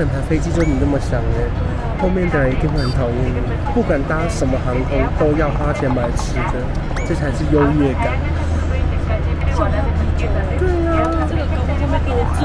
整台飛機就你那麼想哎，後面的人一定會很討厭你。不管搭什麼航空，都要花錢買吃的，這才是優越感。對啊，這個高空上面憋醉。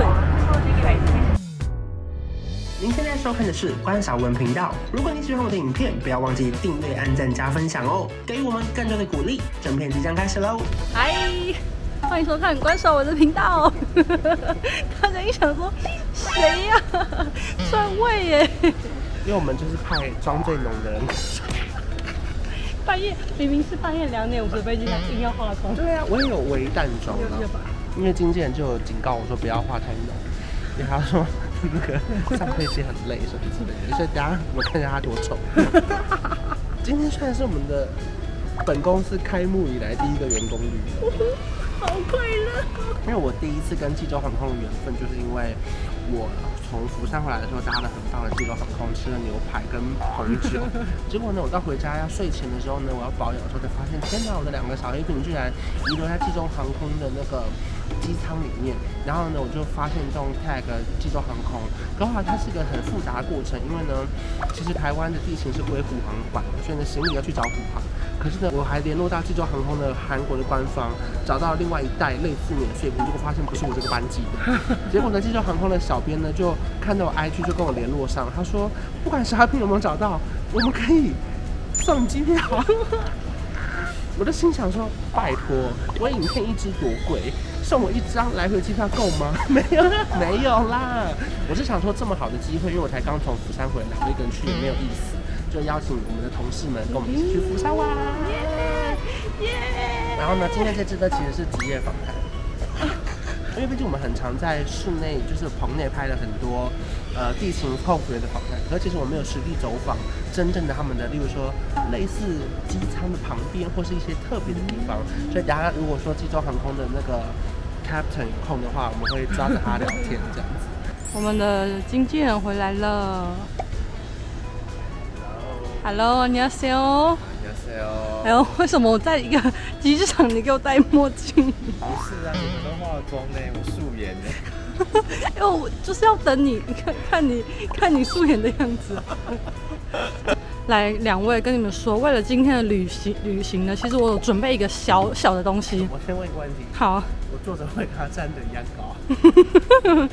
您現在收看的是關韶文頻道。如果你喜歡我的影片，不要忘記訂閱、按讚、加分享哦，給予我們更多的鼓勵。正片即將開始嘍！嗨，歡迎收看關韶文的頻道。大家一想說，誰呀？篡位耶！因為我們就是派裝最濃的人。半夜明明是半夜2點50飛機，他硬要化妝。对啊，我也有微淡妝啊。因為經紀人就有警告我說不要化太濃，因為他說那個上飛機很累什麼之類的，所以等下我看一下他多醜。今天算是我們的本公司開幕以來第一個員工旅遊，好快樂！因為我第一次跟濟州航空的緣分，就是因為我從釜山回來的時候搭了很棒的濟州航空，吃了牛排跟紅酒。結果呢，我到回家要睡前的時候呢，我要保養的时候才發现，天哪，我的2個小黑瓶居然遺留在濟州航空的那個機艙裡面。然後呢，我就發现这种 tag 濟州航空，然後它是一個很複雜的過程，因為呢，其實台灣的地勤是歸虎航管的，所以呢，行李要去找虎航。可是呢，我還聯絡到濟州航空的韓國的官方，找到另外一袋類似免稅品，結果發現不是我這個班機的。結果呢，濟州航空的小編呢就看到我 IG 就跟我聯絡上，他說不管小品有沒有找到，我們可以送機票。我就心想說，拜託，我影片1支多貴，送我1張來回機票夠嗎？沒有啦。我是想說這麼好的機會，因為我才剛從釜山回來，我一個人去也沒有意思。就邀請我們的同事們跟我們一起去釜山玩。然後呢，今天這支呢其實是職業訪談，因為畢竟我們很常在室內，就是棚內拍了很多地勤空服員的訪談，可是其實我沒有實地走訪真正的他們的，例如說類似機艙的旁邊或是一些特別的地方。所以大家如果說濟州航空的那個 Captain 有空的話，我們會抓着他聊天這樣子。 我們的經紀人回來了。Hello， 안녕하세요。안녕하세요。哎呦，為什麼我在一個機場你給我戴墨鏡？ 不是啊，你們都化妝呢，我素顏呢。 因為我就是要等你，看你素顏的樣子。來，2位跟你們說，為了今天的旅行呢，其實我有準備一個小小的東西。 我先問一個問題。 好。 我坐着會跟他站得一樣高。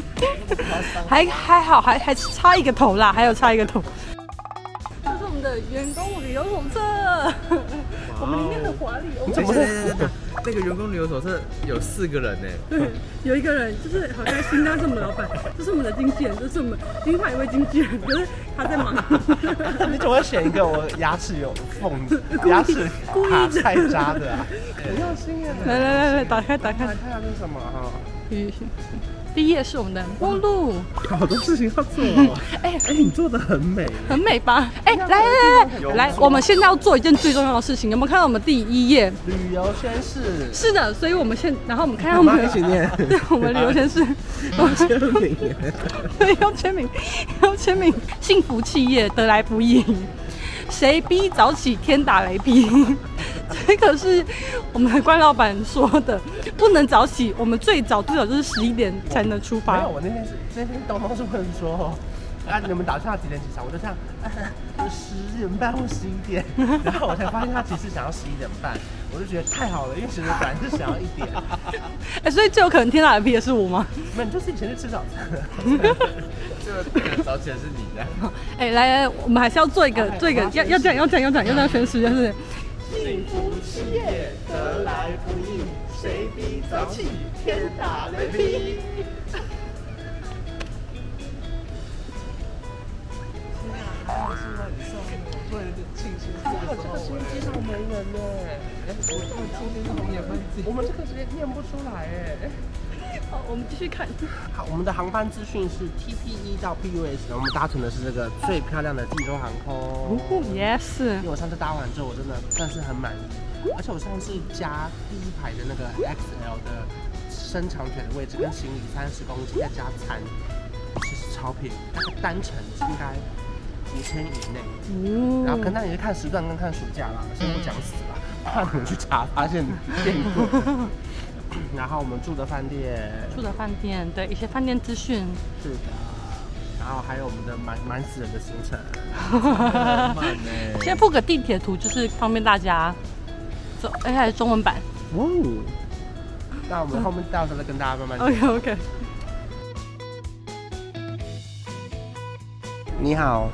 還好，還差一個頭啦，還有差一個頭。的員工旅遊手冊，我們裡面很華麗。 那個員工旅遊手冊有4個人呢。 對，有一個人就是好開心，他是我們的老闆，這是我們的經紀人，這是我們另外一位經紀人，可是他在忙。 你怎麼會選一個我牙齒有縫、牙齒卡菜渣的啊？很用心耶！ 來，打開。看下這是什麼哈？ 第一頁是我們的目錄， 好多事情要做哦。你做的很美， 很美吧？來，我們現在要做一件最重要的事情，有沒有看到我們第1頁？ 旅遊宣誓。 是的，所以我們然後我們看到我們一起念。 對，我們旅遊宣誓。 要簽名。 對，要簽名。幸福企業得來不易，誰逼早起天打雷劈。這個是我們的關老闆說的，不能早起，我們最早就是11點才能出發。 沒有，我那天東東是問說，你們打算幾點起床？我就這樣，10點半或11點，然後我才發現他其實想要11點半，我就覺得太好了，因為其實本來是想要1點。 所以最有可能天打雷劈的是我嗎？ 沒有，你就是以前去吃早餐的。 這早起的是你的。 來，我們還是要做一個，要講宣誓，就是幸福企業得來不易，誰逼早起天打雷劈。做一個慶祝。哇，這個時間機上沒人呢。我們這個時間念不出來哎。 好，我們繼續看。 好，我們的航班資訊是 TP1 到 PUS， 我們搭乘的是這個最漂亮的濟州航空。 Yes。因為我上次搭完之後，我真的算是很滿意，而且我上次加第1排的那個 XL 的伸長腿的位置，跟行李30公斤再加餐，其實超便宜，大概單程應該5000以內。然後可能你是看时段跟看暑假啦，先不講死了，怕你們去查發現變貴。然後我們住的飯店， 对一些飯店資訊。 是的。然後還有我們的蠻死人的行程。 先附個地鐵圖，就是方便大家走。還是中文版。哦。 那我們後面到時候再跟大家慢慢講。 OK。 你好。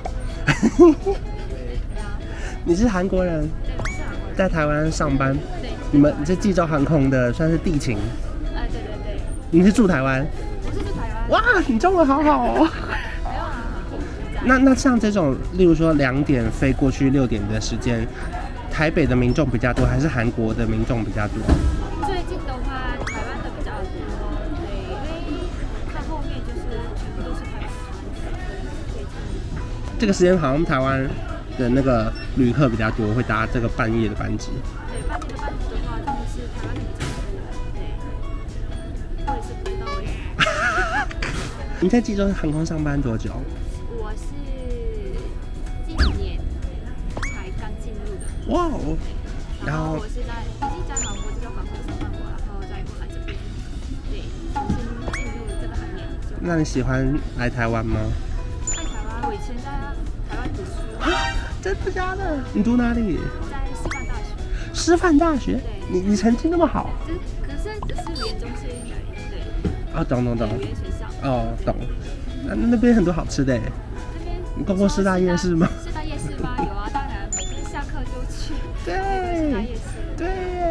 你是韓國人？ 对，我是韓國人。 在台灣上班。 對。 你們這濟州航空的算是地勤。 對。 你是住台灣？ 我是住台灣。 哇，你中文好好哦。 沒有啊。 那像這種，例如說2點飛過去6點的時間，台北的民眾比較多，還是韓國的民眾比較多？ 最近的話，台灣的比較多，對，因為看後面就是全部都是台灣人。 這個時間好像台灣的那個旅客比較多，會搭這個半夜的班機。 對，半夜的班機的話，真的是台灣的比較多。對，我也是不知道為什麼。 你在濟州航空上班多久？ 我是今年才剛進入的。 哇哦！ 然后我是已經在韓國這個航空上班過，然後再過來這邊。對，重新進入這個行業。 那你喜歡來台灣嗎？ 愛台灣，我以前在台灣讀書。 真的假的？你讀哪裡？ 在師範大學。 師範大學？ 對。 你成績那麼好？ 可是語言中心而已。對。 哦，懂。 語言學校。 哦，懂。那邊很多好吃的。 那邊你逛過師大夜市嗎？ 師大夜市嗎？有啊，當然，每天下課就去。 對。 師大夜市。 對。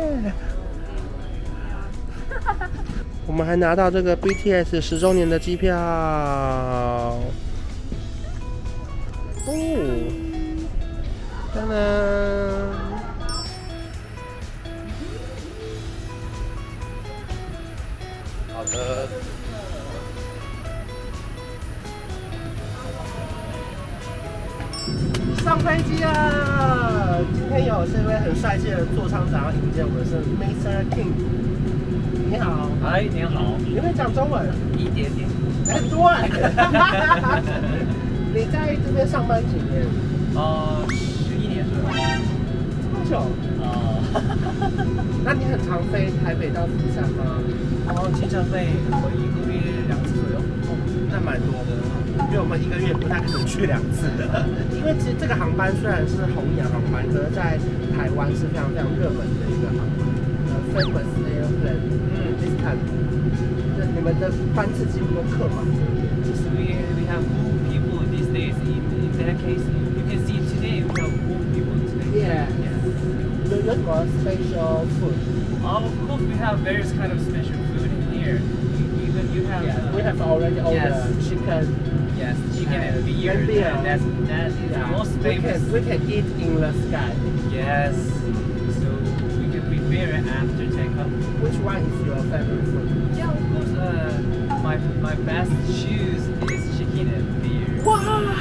我們還拿到這個 BTS 10週年的機票。哦。當然。好的。上飛機了！今天有這位很帥氣的座艙長要迎接我們，是 Mr. King。你好。 嗨，你好。 你會講中文？ 一點點。 很多哎。你在這邊上班幾年 ？11年左右。 這麼久？那你很常飛台北到釜山嗎？ 經常飛，我1個月2次左右。 那蠻多的，因為我們1個月不太可能去2次的。因為其實這個航班雖然是紅眼航班，可是在台灣是非常非常熱門的一個航班。Famous airplane。this time。你們的班次幾乎都客滿。 We have full people these days. In that case, you can see today we have full people today. Yeah. You got special food. Of course, we have various kind of special food in here. Even you have. We have already ordered chicken. Yes, chicken and beer. That is the most famous. We can eat in the sky. Yes. So we can prepare it after takeoff. Which one is your favorite food? Yeah, of course. My best choose is chicken and beer. Wow!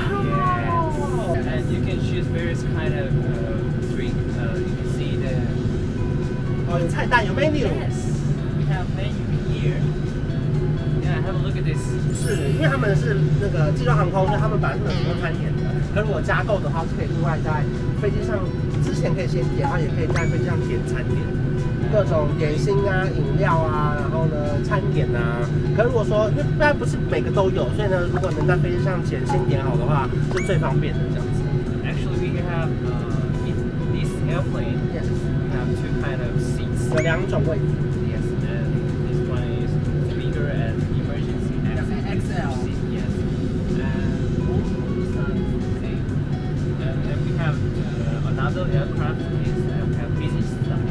Yes. And you can choose various kind of drink. You can see the. 有菜单，有 menu. Yes, we have menu here. Yeah, have a look at this. 是，因为他们是那个济州航空，所以他们本来是能提供餐点的。可是我加购的話，是可以另外在飛機上之前可以先點，然後也可以在飛機上點餐點，各種點心啊、飲料啊，然後呢餐點啊。可如果說，因為當然不是每個都有，所以呢，如果能在飛機上先點好的話，是最方便的這樣子。 Actually, we have in this airplane. Yes. We have 2 kind of seats. 有2種位置。 Yes, and this one is bigger and emergency XL. Yes, and this one is the same. And we have another aircraft is we have business class.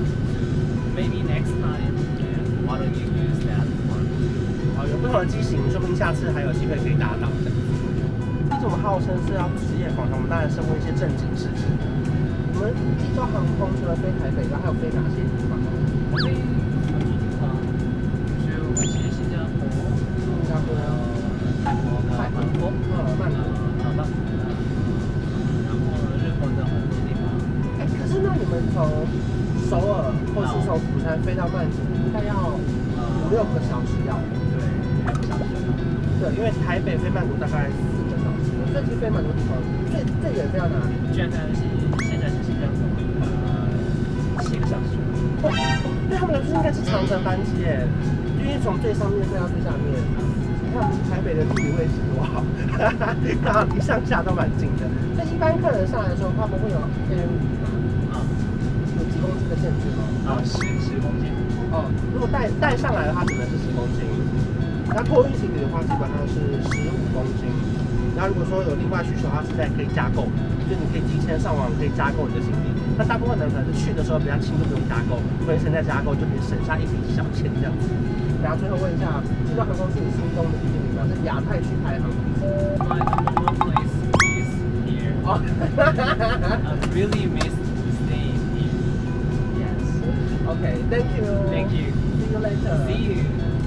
Maybe next time, why don't you use that one? 有不同的機型，說不定下次還有機會可以搭到的。這種號稱是要職業訪談，我們當然是問一些正經事情。你們濟州航空除了飛台北，還有飛哪些地方？ 飛很多地方，就是我們去新加坡、泰國、曼谷，然後日本的很多地方。 可是那你們從首爾或是從釜山飛到曼谷，應該要5-6個小時要。 對，2個小時。 對，因為台北飛曼谷大概4個小時。最近飛蠻多地方，最遠飛到哪裡？ 現在是新加坡，7個小時。 對他們來說應該是長程班機耶，因為從最上面飛到最下面。 看台北的地理位置多好，剛好離上下都蠻近的。所以一般客人上來的时候，他们会有有幾公斤的限制嗎？10公斤。哦，如果带上來的話，只能是10公斤。那托運行李的話，基本上是15公斤。然後如果說有另外需求的話，现在可以加購，就你可以提前上網可以加购你的行李。那大部分人可能是去的时候比较轻，就不用加购，回程再加购就可以省下一筆小錢這樣子。然後最後問一下，這段航空是你心中的第一名嗎？是亞太區排航。 My number 1 place is here. Oh. I really miss staying here. Yes. Okay, thank you. Thank you. See you later. See you.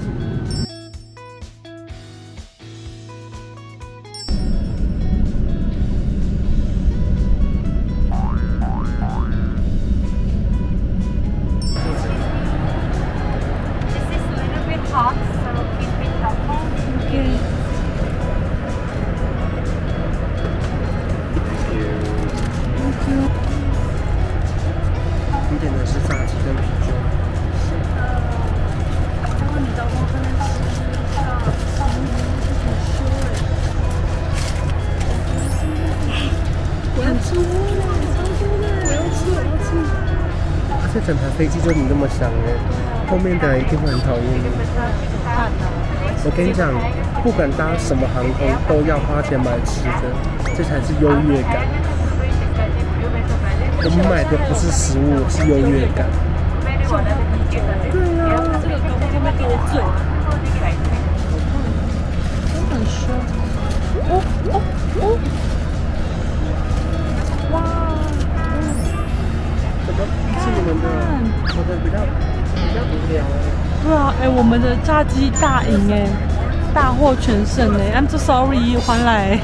这整台飞机就你那麼想哎，後面的人一定會很討厭你。我跟你講，不管搭什麼航空，都要花錢買吃的，這才是優越感。我們買的不是食物，是優越感。對啊，這個高空會被多醉。真很凶。哦哦哦！哇！怎麼是你們的？我的比較無聊哎。 对啊，我們的炸雞大贏哎，大獲全勝哎 ！I'm so sorry， 還來。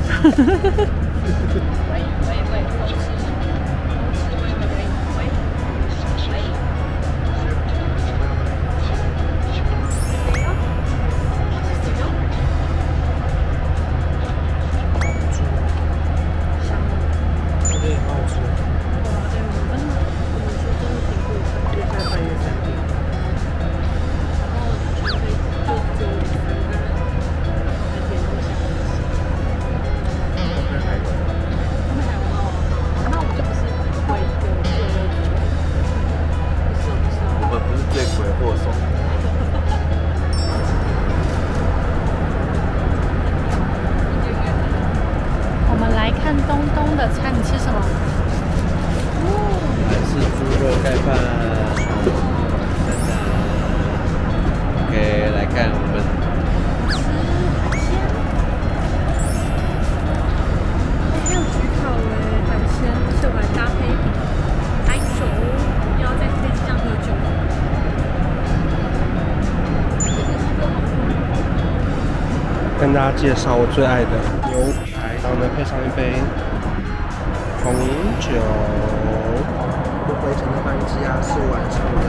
跟大家介紹我最愛的牛排，然後呢配上一杯紅酒。我回程的班機是晚上的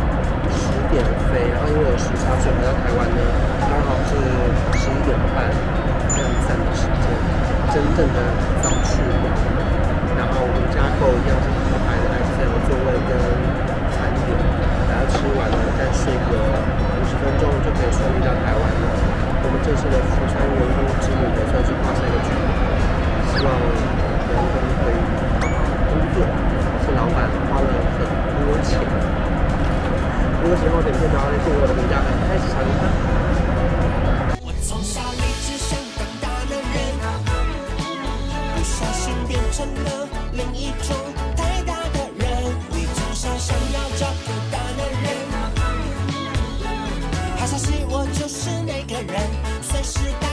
10點飛，然後因為有時差，所以回到台灣呢剛好是11點半，這樣讚的時間，真正的早去晚。然後我們加購一樣是牛排的 XL 座位跟餐點，然後吃完了再睡個50分鐘就可以順利到台灣了。我們這次的福川員工之旅也算是畫下一個句點，希望員工可以工作，是老闆花了很多錢。如果喜歡我的影片的話，訂閱我的頻道，開始查看。我從小立志想當大男人，不小心變成了另一種太大的人。你從小想要找個大男人，好消息我就是那個人，隨時。